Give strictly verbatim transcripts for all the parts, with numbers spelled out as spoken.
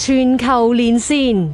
全球連線。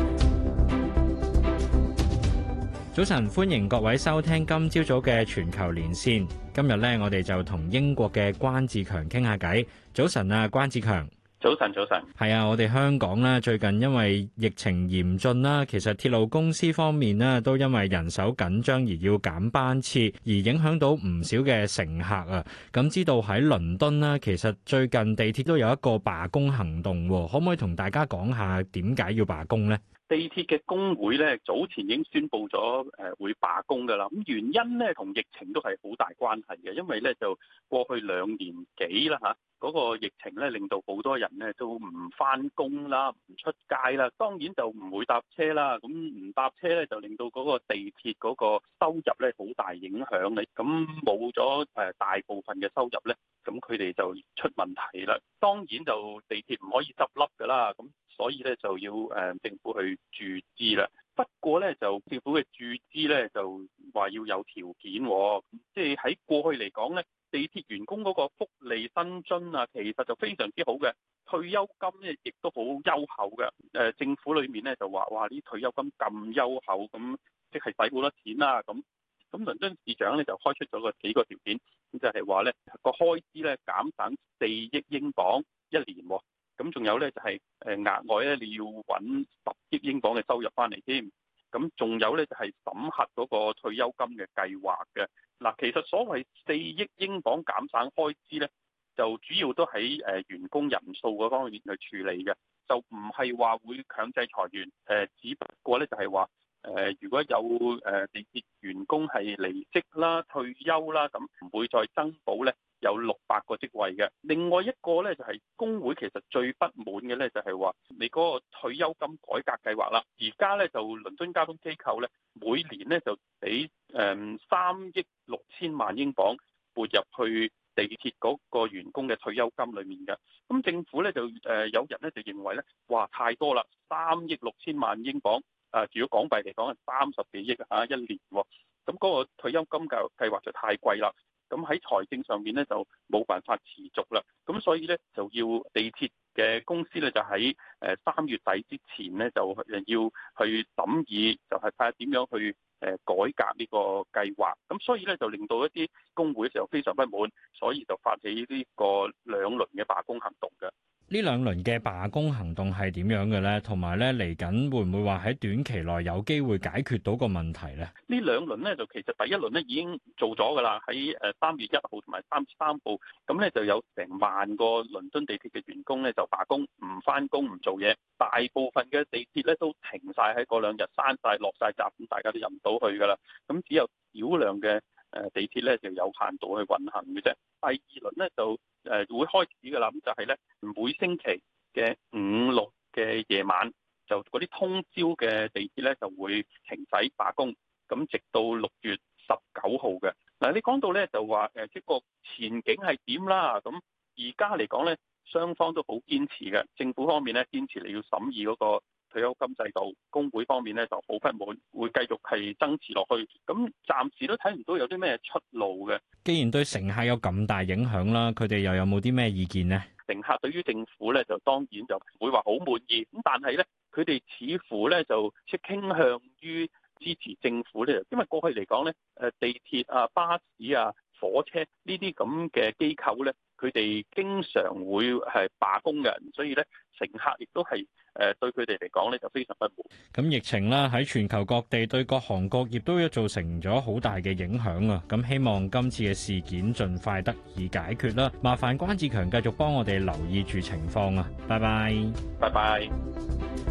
早晨，歡迎各位收聽今朝早嘅全球連線。今日咧，我哋就同英國嘅關志強傾下偈。早晨啊，關志強。 早晨，早晨。係啊，我哋香港咧最近因為疫情嚴峻啦，其實鐵路公司方面咧都因為人手緊張而要減班次，而影響到唔少嘅乘客啊。咁知道喺倫敦咧，其實最近地鐵都有一個罷工行動，可唔可以同大家講下點解要罷工呢？ 地鐵嘅工會咧早前已經宣布咗誒會罷工㗎啦。咁原因咧同疫情都係好大關係嘅，因為咧就過去兩年幾啦嚇，嗰個疫情咧令到好多人咧都唔返工啦，唔出街啦，當然就唔會搭車啦。咁唔搭車咧就令到嗰個地鐵嗰個收入咧好大影響嘅。咁冇咗誒大部分嘅收入咧，咁佢哋就出問題啦。當然就地鐵唔可以執笠㗎啦。咁所以咧就要誒政府去注資啦。不過咧就政府嘅注資咧就話要有條件，即係喺過去嚟講咧，地鐵員工嗰個福利薪津啊，其實就非常之好嘅，退休金咧亦都好優厚嘅。誒政府裏面咧就話哇啲退休金咁優厚，咁即係使好多錢啦。咁咁倫敦市長咧就開出咗個幾個條件，咁就係話咧個開支咧減省四億英鎊一年。咁仲有咧就係誒額外咧你要揾十億英鎊嘅收入翻嚟添，咁仲有咧就係審核嗰個退休金嘅計劃嘅。嗱，其實所謂四億英鎊減省開支咧，就主要都喺誒員工人數嗰方面去處理嘅，就唔係話會強制裁員，誒只不過咧就係話誒如果有誒地鐵員工係離職啦、退休啦，咁唔會再增補咧。有六百個職位嘅。另外一個咧就係工會其實最不滿嘅咧就係話你嗰個退休金改革計劃啦。而家咧就倫敦交通機構咧每年咧就俾誒三億六千萬英鎊撥入去地鐵嗰個員工嘅退休金裡面嘅。咁政府咧就誒有人咧就認為咧，哇太多啦，三億六千萬英鎊啊，如果港幣嚟講係三十幾億啊一年喎。咁嗰個退休金計計劃就太貴啦。咁喺財政上面咧就冇辦法持續啦，咁所以咧就要地鐵嘅公司咧就喺誒三月底之前咧就誒要去審議，就係睇下點樣去誒改革呢個計劃。咁所以咧就令到一啲工會嘅時候非常不滿，所以就發起呢個兩輪嘅罷工行動嘅。 呢兩輪嘅罷工行動係點樣嘅咧？同埋咧嚟緊會唔會話喺短期內有機會解決到個問題咧？ 呢兩輪咧就其實第一輪咧已經做咗㗎啦，喺誒三月一號同埋三月三號，咁咧就有成萬個倫敦地鐵嘅員工咧就罷工，唔返工唔做嘢，大部分嘅地鐵咧都停晒喺嗰兩日，閂晒落晒閘，咁大家都入唔到去㗎啦。咁只有少量嘅誒地鐵咧就有限度去運行嘅啫。第二輪咧就誒會開始㗎啦，咁就係咧每星期嘅五六嘅夜晚，就嗰啲通宵嘅地鐵咧就會停駛罷工，咁直到六月十九號嘅。嗱，你講到咧就話誒即個前景係點啦？咁而家嚟講咧，雙方都好堅持嘅。政府方面咧堅持你要審議嗰個退休金制度，工會方面咧就好不滿，會繼續係爭持落去。咁暫時都睇唔到有啲咩出路嘅。 既然對乘客有咁大影響啦，佢哋又有冇啲咩意見呢？ 乘客對於政府咧就當然就唔會話好滿意，咁但係咧佢哋似乎咧就即係傾向於支持政府咧，因為過去嚟講咧誒地鐵啊、巴士啊、火車呢啲咁嘅機構咧，佢哋經常會係罷工嘅，所以咧乘客亦都係誒對佢哋嚟講咧就非常不滿。 咁疫情啦喺全球各地對各行各業都造成咗好大嘅影響啊！咁希望今次嘅事件盡快得以解決啦。麻煩關志強繼續幫我哋留意住情況啊！拜拜， 拜拜。